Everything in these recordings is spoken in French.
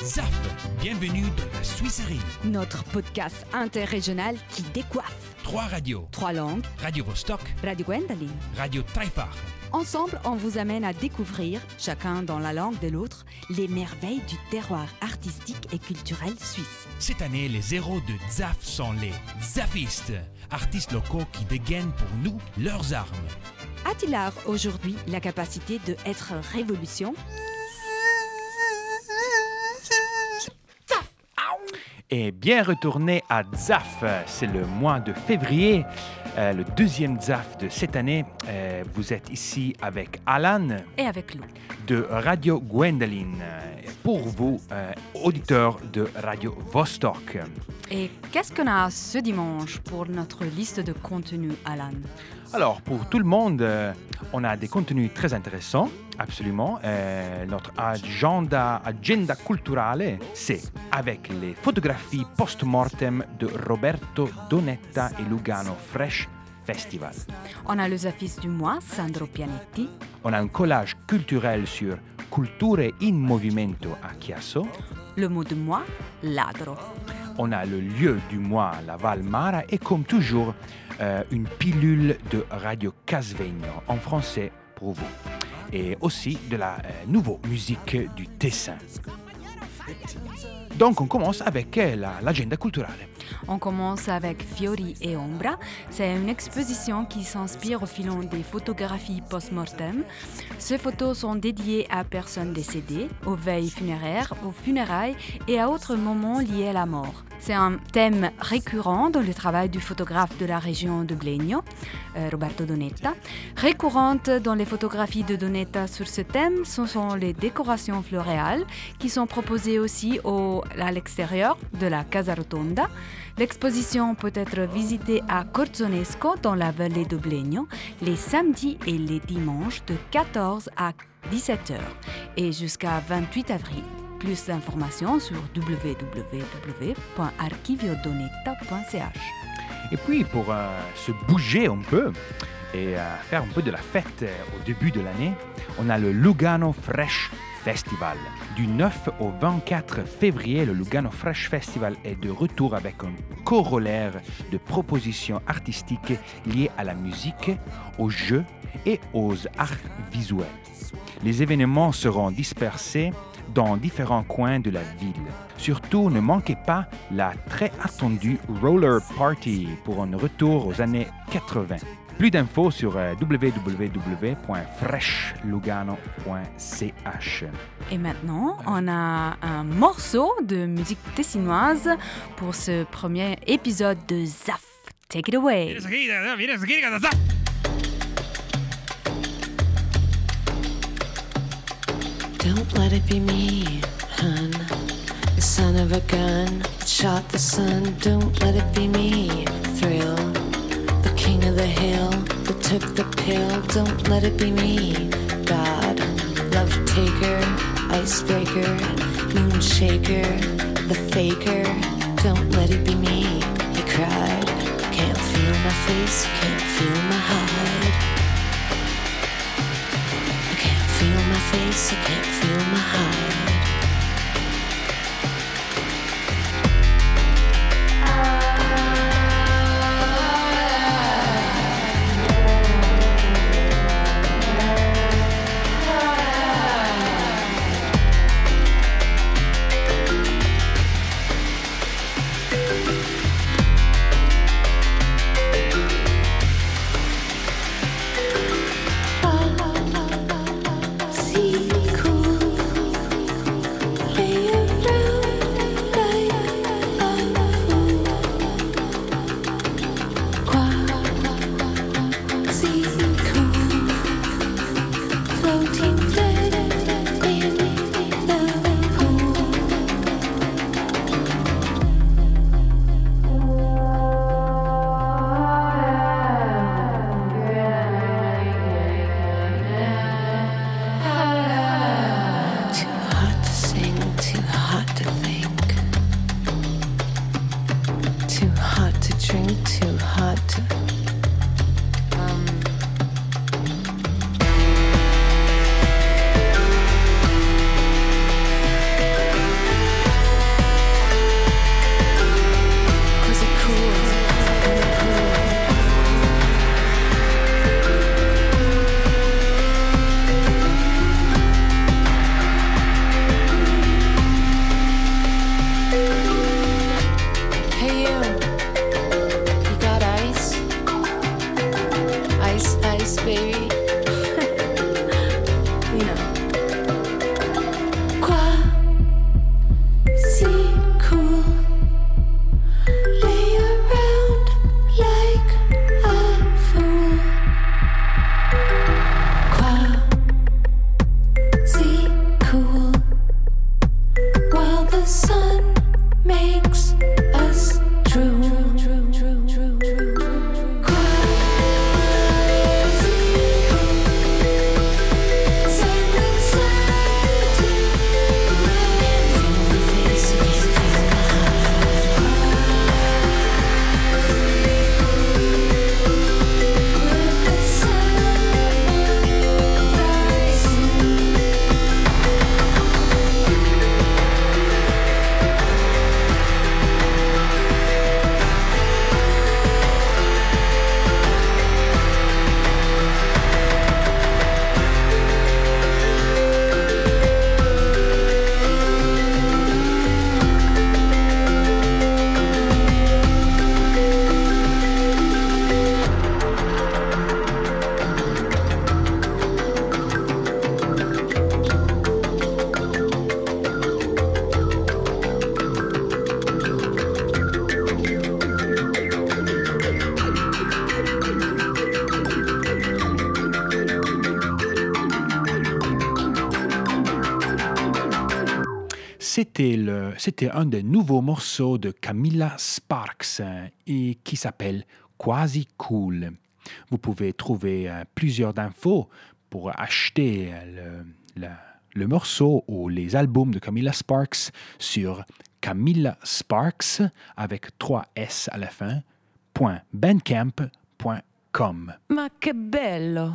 ZAF, bienvenue dans la Suisserie. Notre podcast interrégional qui décoiffe. 3 radios. 3 langues. Radio Vostok, Radio Gwendoline. Radio Taifar. Ensemble, on vous amène à découvrir, chacun dans la langue de l'autre, les merveilles du terroir artistique et culturel suisse. Cette année, les héros de ZAF sont les Zafistes, artistes locaux qui dégainent pour nous leurs armes. A-t-il art aujourd'hui la capacité de être révolution? Et bien retourné à ZAF, c'est le mois de février, le deuxième ZAF de cette année. Vous êtes ici avec Alan Et avec Lou. de Radio Gwendoline, pour vous, auditeurs de Radio Vostok. Et qu'est-ce qu'on a ce dimanche pour notre liste de contenus, Alan? Alors, pour tout le monde, on a des contenus très intéressants, absolument. Notre agenda culturale, c'est avec les photographies post-mortem de Roberto Donetta et Lugano Fresh Festival. On a le Zafis du mois, Sandro Pianetti. On a un collage culturel sur Culture in Movimento a Chiasso. Le mot du mois, ladro. On a le lieu du mois, la Val Mara, et comme toujours, une pilule de Radio Casvegno en français pour vous. Et aussi de la nouvelle musique du Tessin. Donc on commence avec l'agenda culturale. On commence avec Fiori e Ombra. C'est une exposition qui s'inspire au filon des photographies post-mortem. Ces photos sont dédiées à personnes décédées, aux veilles funéraires, aux funérailles et à autres moments liés à la mort. C'est un thème récurrent dans le travail du photographe de la région de Blegno, Roberto Donetta. Récurrente dans les photographies de Donetta sur ce thème, ce sont les décorations floréales qui sont proposées aussi à l'extérieur de la Casa Rotonda. L'exposition peut être visitée à Corzonesco dans la vallée de Blegno les samedis et les dimanches de 14 à 17h et jusqu'à 28 avril. Plus d'informations sur www.archiviodonetta.ch. Et puis, pour se bouger un peu et faire un peu de la fête au début de l'année, on a le Lugano Fresh Festival. Du 9 au 24 février, le Lugano Fresh Festival est de retour avec un corollaire de propositions artistiques liées à la musique, aux jeux et aux arts visuels. Les événements seront dispersés dans différents coins de la ville. Surtout, ne manquez pas la très attendue Roller Party pour un retour aux années 80. Plus d'infos sur www.freshlugano.ch. Et maintenant, on a un morceau de musique tessinoise pour ce premier épisode de ZAF. Take it away. Don't let it be me, hun. The son of a gun that shot the sun. Don't let it be me, Thrill. The king of the hill that took the pill. Don't let it be me, God. Love taker, icebreaker, moon shaker, the faker. Don't let it be me, he cried. Can't feel my face, can't feel my hide. I can't feel my face, I can't feel my hide. c'était un des nouveaux morceaux de Camilla Sparks et qui s'appelle Quasi Cool. Vous pouvez trouver plusieurs infos pour acheter le morceau ou les albums de Camilla Sparks sur CamillaSparks avec 3 S à la fin, .bandcamp.com. Ma che bello!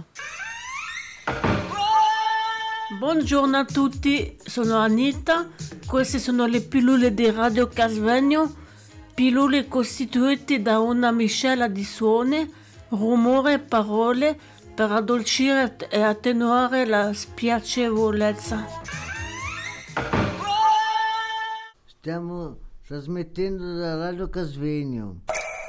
Buongiorno a tutti, sono Anita, queste sono le pillole di Radio Casvegno, pillole costituite da una miscela di suoni, rumore e parole per addolcire e attenuare la spiacevolezza. Stiamo trasmettendo da Radio Casvegno.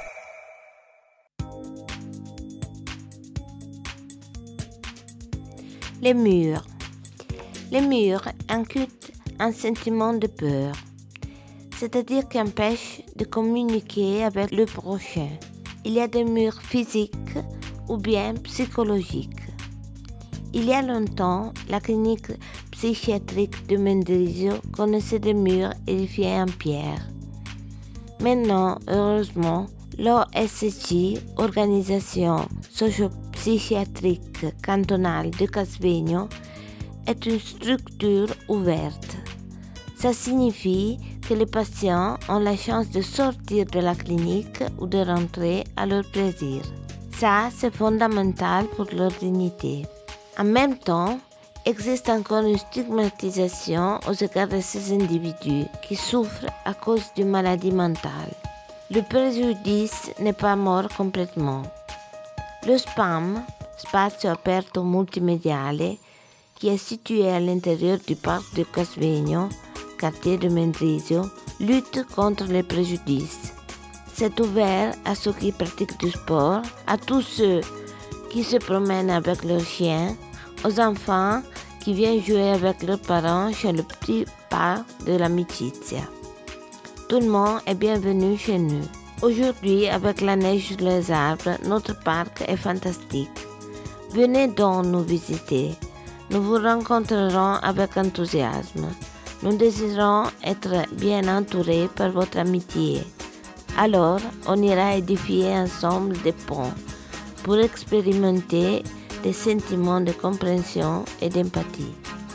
Les murs. Les murs incultent un sentiment de peur, c'est-à-dire qu'empêchent de communiquer avec le prochain. Il y a des murs physiques ou bien psychologiques. Il y a longtemps, la clinique psychiatrique de Mendrisio connaissait des murs édifiés en pierre. Maintenant, heureusement, l'OSC, Organisation socio-psychiatrique cantonale de Casvegno, est une structure ouverte. Ça signifie que les patients ont la chance de sortir de la clinique ou de rentrer à leur plaisir. Ça, c'est fondamental pour leur dignité. En même temps, existe encore une stigmatisation aux égards de ces individus qui souffrent à cause d'une maladie mentale. Le préjudice n'est pas mort complètement. Le SPAM, Spazio Aperto Multimediale, qui est situé à l'intérieur du parc de Casvegno, quartier de Mendrisio, lutte contre les préjudices. C'est ouvert à ceux qui pratiquent du sport, à tous ceux qui se promènent avec leurs chiens, aux enfants qui viennent jouer avec leurs parents chez le petit parc de l'Amicizia. Tout le monde est bienvenu chez nous. Aujourd'hui, avec la neige sur les arbres, notre parc est fantastique. Venez donc nous visiter. Nous vous rencontrerons avec enthousiasme. Nous désirons être bien entourés par votre amitié. Alors, on ira édifier ensemble des ponts pour expérimenter des sentiments de compréhension et d'empathie.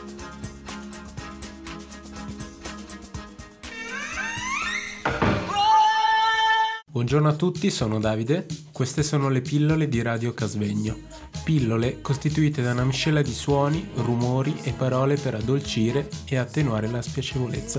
Buongiorno a tutti, sono Davide. Queste sono le pillole di Radio Casvegno. Pillole costituite da una miscela di suoni, rumori e parole per addolcire e attenuare la spiacevolezza.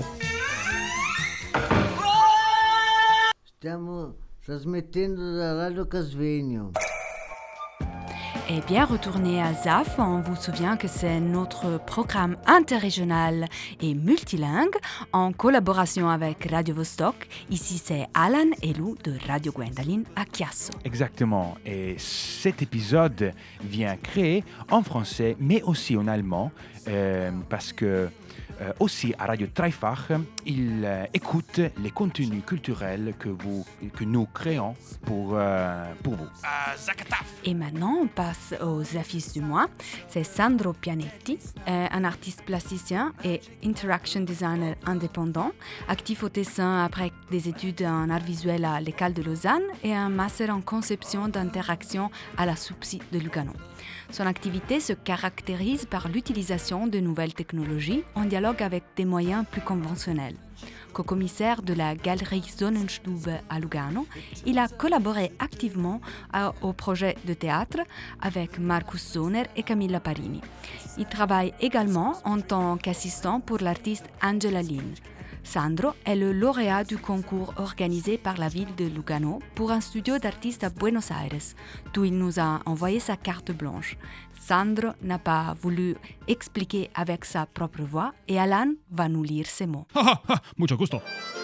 Stiamo trasmettendo da Radio Casvegno. Et bien retourné à ZAF, on vous souvient que c'est notre programme interrégional et multilingue en collaboration avec Radio Vostok. Ici, c'est Alan et Lou de Radio Gwendoline à Chiasso. Exactement. Et cet épisode vient créé en français, mais aussi en allemand, parce que aussi à Radio Dreifach, ils écoutent les contenus culturels que nous créons pour vous. Et maintenant, on passe aux affiches du mois. C'est Sandro Pianetti, un artiste plasticien et interaction designer indépendant, actif au dessin après des études en art visuel à l'École de Lausanne et un master en conception d'interaction à la SUPSI de Lugano. Son activité se caractérise par l'utilisation de nouvelles technologies en dialogue avec des moyens plus conventionnels. Co-commissaire de la Galerie Sonnenstube à Lugano, il a collaboré activement au projet de théâtre avec Markus Sohner et Camilla Parini. Il travaille également en tant qu'assistant pour l'artiste Angela Lin. Sandro est le lauréat du concours organisé par la ville de Lugano pour un studio d'artistes à Buenos Aires, d'où il nous a envoyé sa carte blanche. Sandro n'a pas voulu expliquer avec sa propre voix et Alan va nous lire ces mots. Mucho gusto.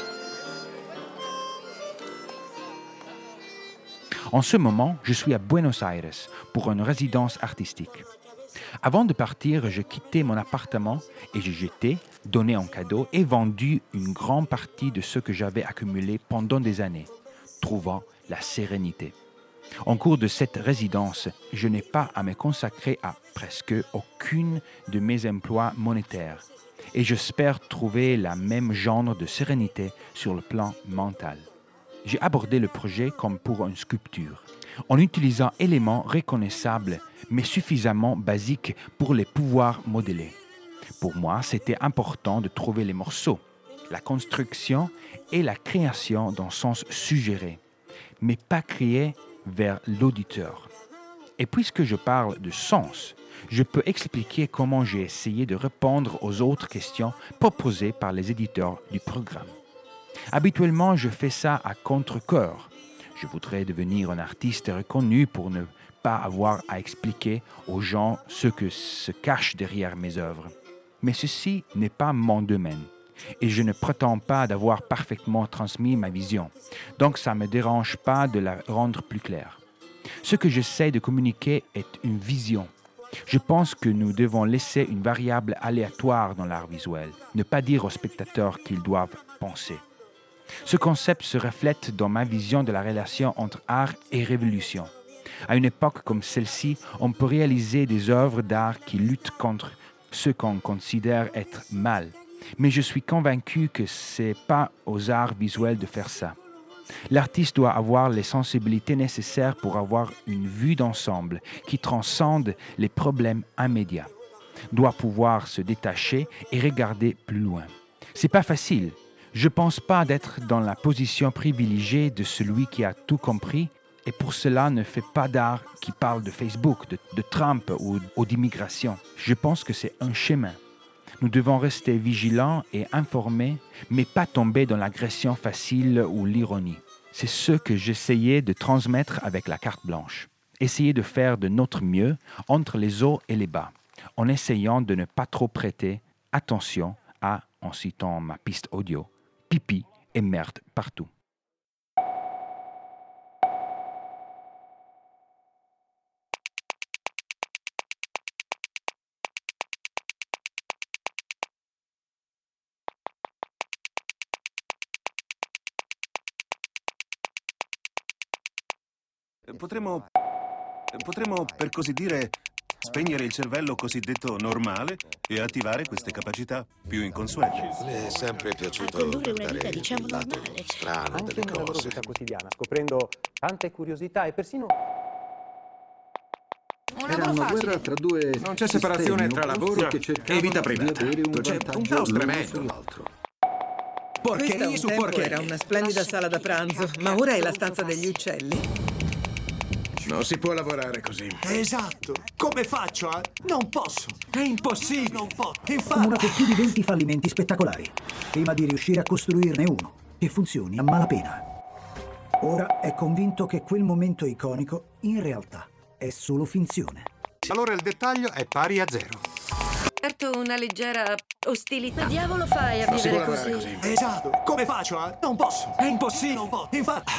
En ce moment, je suis à Buenos Aires pour une résidence artistique. Avant de partir, je quittais mon appartement et j'ai jeté, donné en cadeau et vendu une grande partie de ce que j'avais accumulé pendant des années, trouvant la sérénité. En cours de cette résidence, je n'ai pas à me consacrer à presque aucune de mes emplois monétaires et j'espère trouver la même genre de sérénité sur le plan mental. J'ai abordé le projet comme pour une sculpture, en utilisant éléments reconnaissables mais suffisamment basiques pour les pouvoir modeler. Pour moi, c'était important de trouver les morceaux, la construction et la création d'un sens suggéré, mais pas créé vers l'auditeur. Et puisque je parle de sens, je peux expliquer comment j'ai essayé de répondre aux autres questions proposées par les éditeurs du programme. Habituellement, je fais ça à contre-cœur. Je voudrais devenir un artiste reconnu pour ne pas avoir à expliquer aux gens ce que se cache derrière mes œuvres. Mais ceci n'est pas mon domaine et je ne prétends pas d'avoir parfaitement transmis ma vision. Donc ça ne me dérange pas de la rendre plus claire. Ce que j'essaie de communiquer est une vision. Je pense que nous devons laisser une variable aléatoire dans l'art visuel, ne pas dire aux spectateurs qu'ils doivent penser. Ce concept se reflète dans ma vision de la relation entre art et révolution. À une époque comme celle-ci, on peut réaliser des œuvres d'art qui luttent contre ce qu'on considère être mal. Mais je suis convaincu que ce n'est pas aux arts visuels de faire ça. L'artiste doit avoir les sensibilités nécessaires pour avoir une vue d'ensemble qui transcende les problèmes immédiats. Doit pouvoir se détacher et regarder plus loin. C'est pas facile. Je pense pas d'être dans la position privilégiée de celui qui a tout compris et pour cela ne fait pas d'art qui parle de Facebook, de Trump ou d'immigration. Je pense que c'est un chemin. Nous devons rester vigilants et informés, mais pas tomber dans l'agression facile ou l'ironie. C'est ce que j'essayais de transmettre avec la carte blanche. Essayer de faire de notre mieux entre les hauts et les bas, en essayant de ne pas trop prêter attention à, en citant ma piste audio, pipi et merde partout. Potremmo, per così dire, spegnere il cervello cosiddetto normale e attivare queste capacità più inconsuete. Mi è sempre piaciuto condurre una vita, diciamo, il lato normale. strano anche delle nella loro cose. vita quotidiana, scoprendo tante curiosità e persino... Era una guerra tra due... Non c'è separazione tra lavoro e vita privata. C'è un caos tremendo. Porcheria su porcheria. Era una splendida sala da pranzo, ma ora è la stanza degli uccelli. Non si può lavorare così. Esatto. Come faccio a... Non posso. È impossibile. Non posso. Accumulato più di 20 fallimenti spettacolari, prima di riuscire a costruirne uno che funzioni a malapena. Ora è convinto che quel momento iconico, in realtà, è solo finzione. Allora il dettaglio è pari a 0. Certo, una leggera ostilità. Ma diavolo fai a Non si vivere può lavorare così? Esatto. Come faccio a... Non posso. È impossibile. Non posso. Infatti...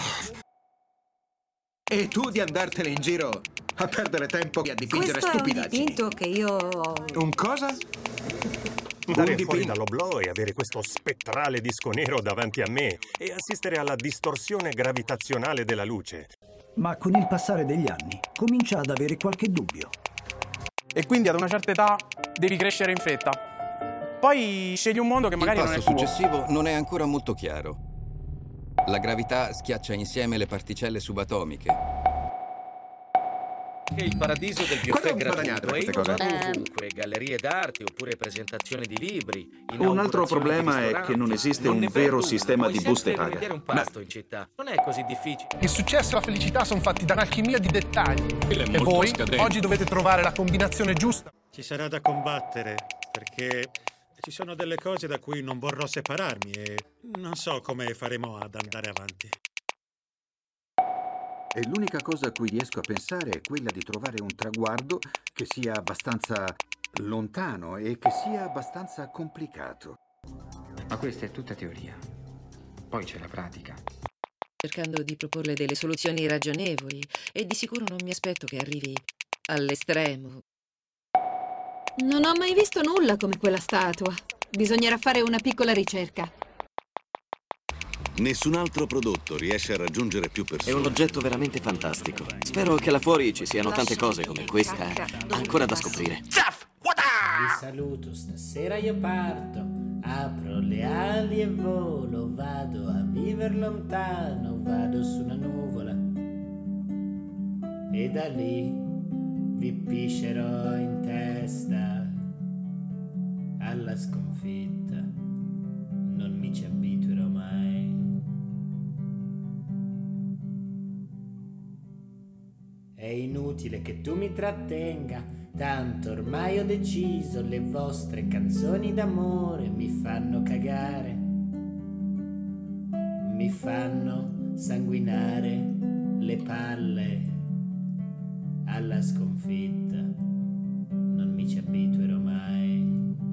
E tu di andartene in giro a perdere tempo e a dipingere Questo stupidaggini. è un dipinto che io ho... Un cosa? Andare fuori dall'oblò e avere questo spettrale disco nero davanti a me e assistere alla distorsione gravitazionale della luce. Ma con il passare degli anni comincia ad avere qualche dubbio. E quindi ad una certa età devi crescere in fretta. Poi scegli un mondo che magari non è tuo. Il passo successivo non è ancora molto chiaro. La gravità schiaccia insieme le particelle subatomiche. Il paradiso del buffet gratuito è ovunque, gallerie d'arte oppure presentazioni di libri. Un altro problema è che non esiste un vero sistema di buste paga. Un pasto in città non è così difficile. Il successo e la felicità sono fatti da un'alchimia di dettagli. E voi oggi dovete trovare la combinazione giusta. Ci sarà da combattere, perché ci sono delle cose da cui non vorrò separarmi e non so come faremo ad andare avanti. E l'unica cosa a cui riesco a pensare è quella di trovare un traguardo che sia abbastanza lontano e che sia abbastanza complicato. Ma questa è tutta teoria. Poi c'è la pratica. Cercando di proporle delle soluzioni ragionevoli e di sicuro non mi aspetto che arrivi all'estremo. Non ho mai visto nulla come quella statua. Bisognerà fare una piccola ricerca. Nessun altro prodotto riesce a raggiungere più persone. È un oggetto veramente fantastico. Spero che là fuori ci siano tante cose come questa, ancora da scoprire. Vi saluto, stasera io parto. Apro le ali e volo. Vado a vivere lontano. Vado su una nuvola. E da lì vi piscerò in testa. Alla sconfitta non mi ci abituerò mai. È inutile che tu mi trattenga, tanto ormai ho deciso, le vostre canzoni d'amore mi fanno cagare, mi fanno sanguinare le palle. Alla sconfitta non mi ci abituerò mai.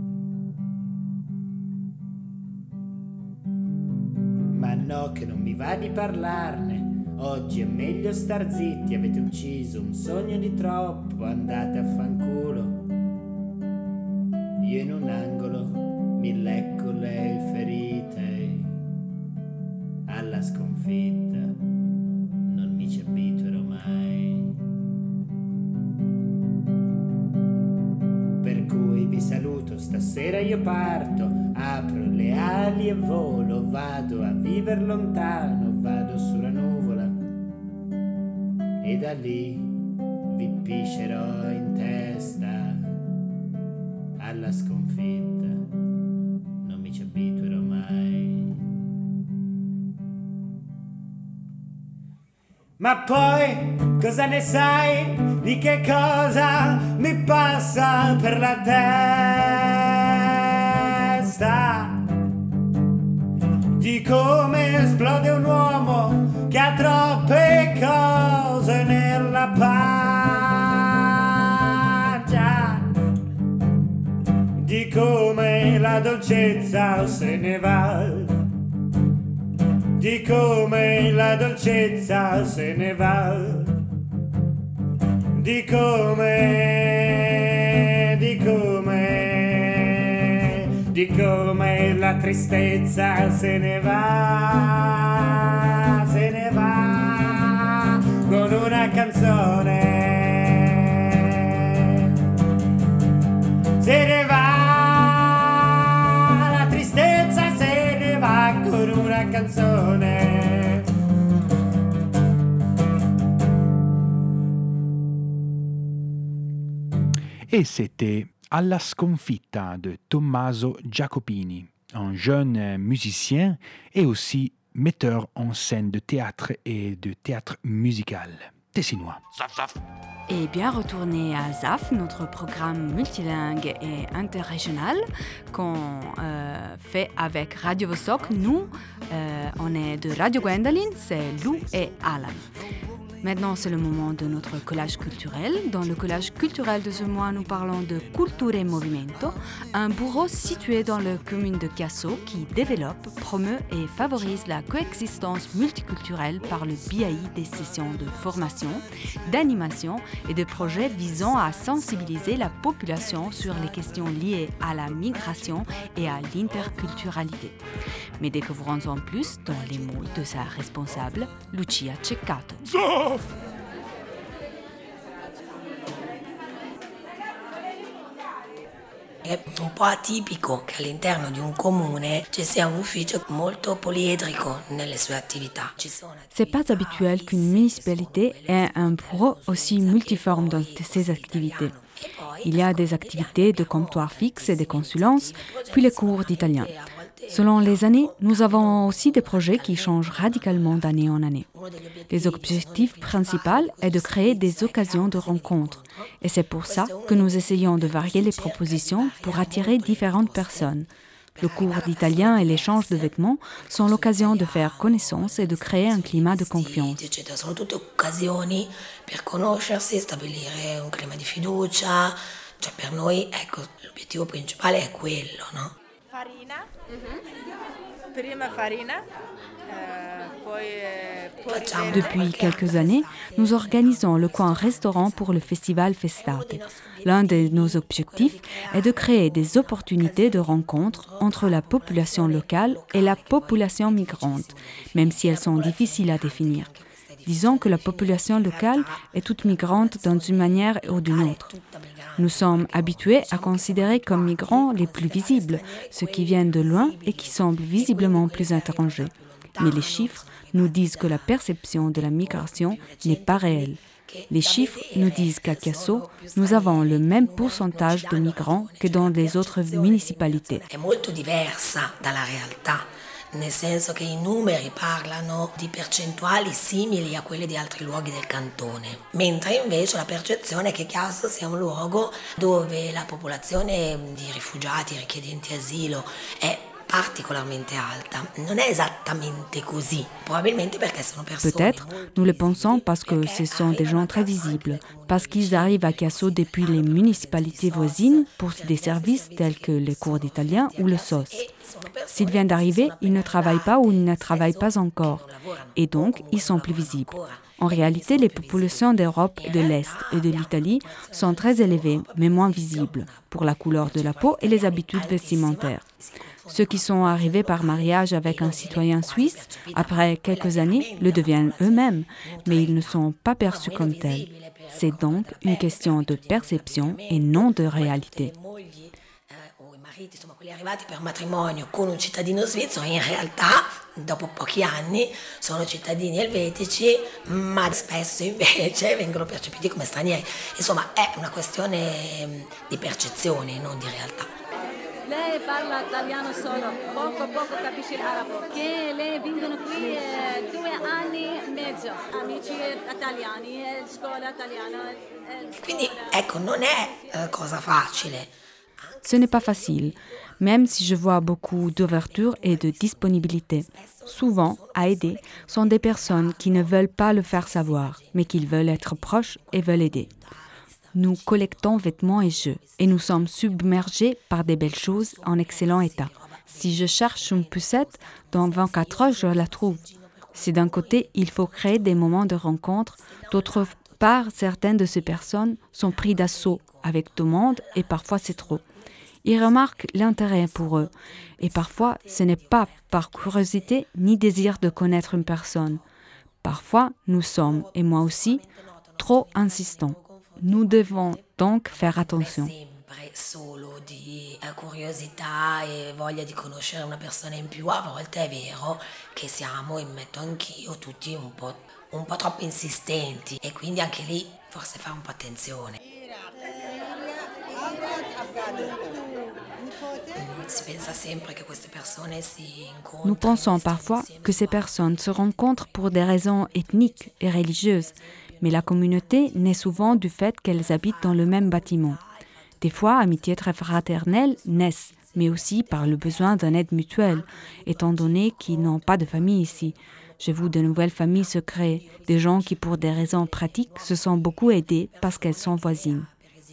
Ma no, che non mi va di parlarne. Oggi è meglio star zitti, avete ucciso un sogno di troppo, andate a fanculo. Io in un angolo mi lecco le ferite. Alla sconfitta non mi ci abituerò mai. Per cui vi saluto, stasera io parto, apro le ali e volo, vado a vivere lontano, vado sulla nuvola. E da lì vi piscerò in testa. Alla sconfitta non mi ci abituerò mai. Ma poi cosa ne sai di che cosa mi passa per la testa? Di come esplode un uomo che ha troppe cose nella pancia, di come la dolcezza se ne va, di come la dolcezza se ne va, di come la tristezza se ne va con una canzone, se ne va, la tristezza se ne va con una canzone. Et c'était À la sconfitta de Tommaso Jacopini, un jeune musicien et aussi metteur en scène de théâtre et de théâtre musical tessinois. Et bien retourner à ZAF, notre programme multilingue et interrégional qu'on fait avec Radio Vostok. Nous, on est de Radio Gwendoline, c'est Lou et Alan. Maintenant, c'est le moment de notre collage culturel. Dans le collage culturel de ce mois, nous parlons de Culture e Movimento, un bureau situé dans la commune de Chiasso qui développe, promeut et favorise la coexistence multiculturelle par le biais des sessions de formation, d'animation et de projets visant à sensibiliser la population sur les questions liées à la migration et à l'interculturalité. Mais découvrons en plus dans les mots de sa responsable, Lucia Ceccato. È un po' atipico che all'interno di un comune ci sia un ufficio molto poliedrico nelle sue attività. C'est pas habituel qu'une municipalité ait un bureau aussi multiforme dans ses activités. Il y a des activités de comptoir fixe et des consulences, puis les cours d'italien. Selon les années, nous avons aussi des projets qui changent radicalement d'année en année. Les objectifs principaux est de créer des occasions de rencontres. Et c'est pour ça que nous essayons de varier les propositions pour attirer différentes personnes. Le cours d'italien et l'échange de vêtements sont l'occasion de faire connaissance et de créer un climat de confiance. Sono tutte occasioni per conoscersi, stabilire un clima di fiducia. Cioè per noi, ecco, l'obiettivo principale è quello, no? Farina. Depuis quelques années, nous organisons le coin restaurant pour le festival Festate. L'un de nos objectifs est de créer des opportunités de rencontre entre la population locale et la population migrante, même si elles sont difficiles à définir. Disons que la population locale est toute migrante dans une manière ou d'une autre. Nous sommes habitués à considérer comme migrants les plus visibles, ceux qui viennent de loin et qui semblent visiblement plus étrangers. Mais les chiffres nous disent que la perception de la migration n'est pas réelle. Les chiffres nous disent qu'à Chiasso, nous avons le même pourcentage de migrants que dans les autres municipalités. È molto diversa dalla realtà, nel senso che i numeri parlano di percentuali simili a quelle di altri luoghi del cantone, mentre invece la percezione è che Chiasso sia un luogo dove la popolazione di rifugiati, richiedenti asilo è particolarmente alta. Non è esattamente così, probabilmente perché sono persone. Peut-être, nous le pensons parce que ce sont des gens très visibles, parce qu'ils arrivent à Chiasso depuis les municipalités voisines pour des services tels que les cours d'italien ou le SOS. S'ils viennent d'arriver, ils ne travaillent pas ou ils ne travaillent pas encore, et donc ils sont plus visibles. En réalité, les populations d'Europe de l'Est et de l'Italie sont très élevées, mais moins visibles, pour la couleur de la peau et les habitudes vestimentaires. Ceux qui sont arrivés par mariage avec un citoyen suisse, après quelques années, le deviennent eux-mêmes, mais ils ne sont pas perçus comme tels. C'est donc une question de perception et non de réalité. Insomma, quelli arrivati per matrimonio con un cittadino svizzero in realtà dopo pochi anni sono cittadini elvetici, ma spesso invece vengono percepiti come stranieri. Insomma, è una questione di percezione, non di realtà. Lei parla italiano solo, poco capisce l'arabo. Che lei vengono qui 2 anni e mezzo, amici italiani, scuola italiana. Quindi ecco, non è cosa facile. Ce n'est pas facile, même si je vois beaucoup d'ouverture et de disponibilité. Souvent, à aider, sont des personnes qui ne veulent pas le faire savoir, mais qui veulent être proches et veulent aider. Nous collectons vêtements et jeux, et nous sommes submergés par des belles choses en excellent état. Si je cherche une poussette, dans 24 heures, je la trouve. Si d'un côté, il faut créer des moments de rencontre, d'autre part, certaines de ces personnes sont prises d'assaut avec tout le monde et parfois c'est trop. Ils remarquent l'intérêt pour eux et parfois ce n'est pas par curiosité ni désir de connaître une personne. Parfois nous sommes, et moi aussi, trop insistants. Nous devons donc faire attention. Solo di curiosità e voglia di conoscere una persona in più, a volte è vero che siamo, e metto anch'io, tutti un po' troppo insistenti e quindi anche lì forse fare un po' attenzione. Si pensa sempre che queste persone si incontrano. Nous pensons parfois que ces personnes se rencontrent pour des raisons ethniques et religieuses, mais la communauté naît souvent du fait qu'elles habitent dans le même bâtiment. Des fois, amitiés très fraternelles naissent, mais aussi par le besoin d'une aide mutuelle, étant donné qu'ils n'ont pas de famille ici. J'ai vu de nouvelles familles se créer, des gens qui, pour des raisons pratiques, se sont beaucoup aidés parce qu'elles sont voisines.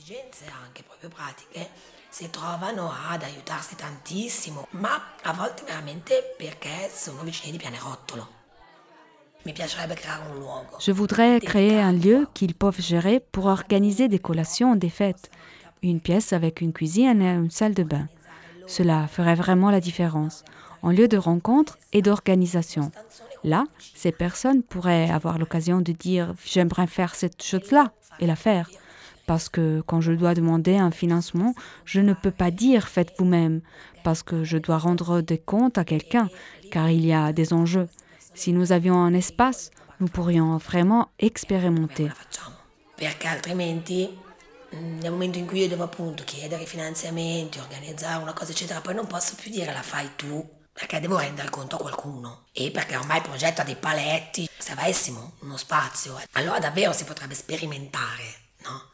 Si trovano ad aiutarsi tantissimo, ma a volte veramente perché sono vicini di Pianerottolo. Mi piacerebbe creare un luogo. Je voudrais créer un lieu qu'ils peuvent gérer pour organiser des collations, des fêtes. Une pièce avec une cuisine et une salle de bain. Cela ferait vraiment la différence, en lieu de rencontre et d'organisation. Là, ces personnes pourraient avoir l'occasion de dire « j'aimerais faire cette chose-là » et la faire. Parce que quand je dois demander un financement, je ne peux pas dire « faites vous-même » parce que je dois rendre des comptes à quelqu'un, car il y a des enjeux. Si nous avions un espace, nous pourrions vraiment expérimenter. Perché altrimenti, nel momento in cui io devo appunto chiedere finanziamenti, organizzare una cosa eccetera, poi non posso più dire la fai tu, perché devo rendere conto a qualcuno. E perché ormai il progetto ha dei paletti. Se avessimo uno spazio, allora davvero si potrebbe sperimentare, no?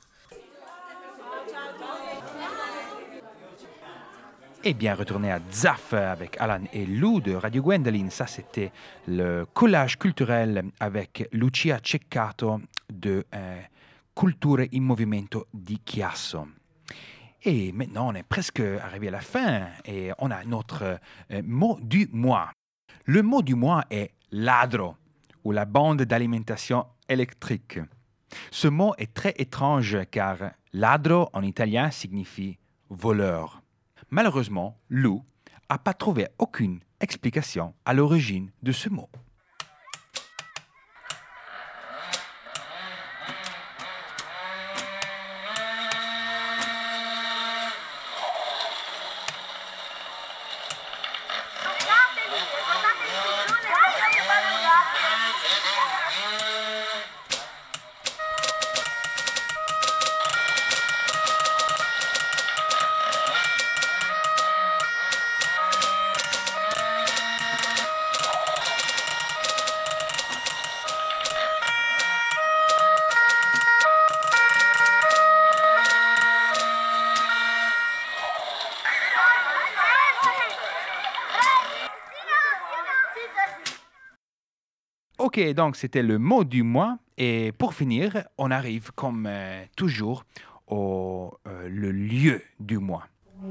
Et bien, retourner à Zaf avec Alan et Lou de Radio Gwendoline. Ça, c'était le collage culturel avec Lucia Ceccato de Culture in Movimento di Chiasso. Et maintenant, on est presque arrivé à la fin et on a notre mot du mois. Le mot du mois est ladro, ou la bande d'alimentation électrique. Ce mot est très étrange car ladro en italien signifie voleur. Malheureusement, Lou n'a pas trouvé aucune explication à l'origine de ce mot. Ok, donc c'était le mot du mois. Et pour finir, on arrive comme toujours au le lieu du mois.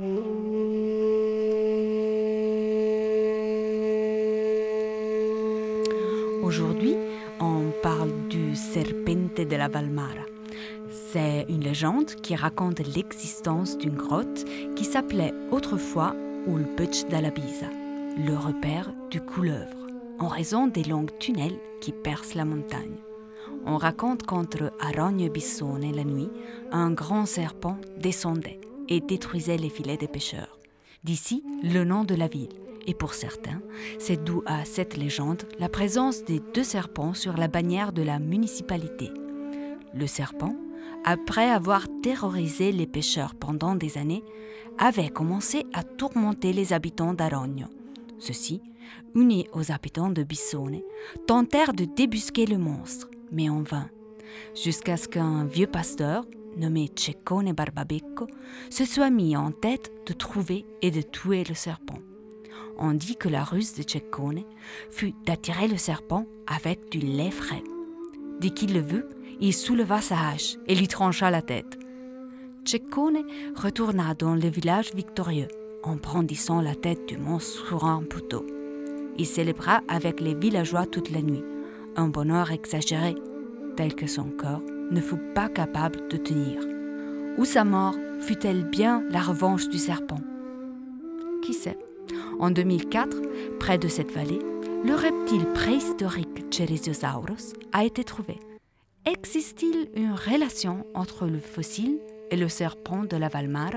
Aujourd'hui, on parle du Serpente della Valmara. C'est une légende qui raconte l'existence d'une grotte qui s'appelait autrefois Ulpec della Bisa, le repère du couleuvre, en raison des longs tunnels qui percent la montagne. On raconte qu'entre Arogno et Bissone, la nuit, un grand serpent descendait et détruisait les filets des pêcheurs. D'ici, le nom de la ville. Et pour certains, c'est dû à cette légende la présence des 2 serpents sur la bannière de la municipalité. Le serpent, après avoir terrorisé les pêcheurs pendant des années, avait commencé à tourmenter les habitants d'Arogno. Ceux-ci, unis aux habitants de Bissone, tentèrent de débusquer le monstre, mais en vain, jusqu'à ce qu'un vieux pasteur, nommé Ceccone Barbabecco, se soit mis en tête de trouver et de tuer le serpent. On dit que la ruse de Ceccone fut d'attirer le serpent avec du lait frais. Dès qu'il le vit, il souleva sa hache et lui trancha la tête. Ceccone retourna dans le village victorieux en brandissant la tête du monstre sur un poteau. Il célébra avec les villageois toute la nuit, un bonheur exagéré, tel que son corps ne fut pas capable de tenir. Ou sa mort fut-elle bien la revanche du serpent? Qui sait? En 2004, près de cette vallée, le reptile préhistorique Ceresiosaurus a été trouvé. Existe-t-il une relation entre le fossile et le serpent de la Valmara?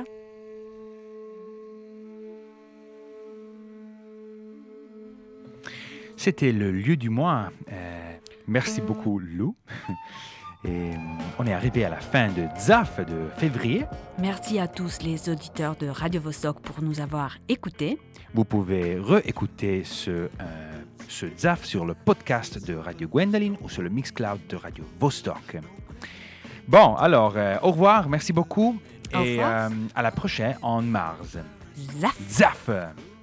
C'était le lieu du mois. Merci beaucoup, Lou. Et on est arrivé à la fin de ZAF de février. Merci à tous les auditeurs de Radio Vostok pour nous avoir écoutés. Vous pouvez réécouter ce ZAF sur le podcast de Radio Gwendoline ou sur le Mixcloud de Radio Vostok. Bon, alors, au revoir, merci beaucoup. Et à la prochaine en mars. ZAF. ZAF.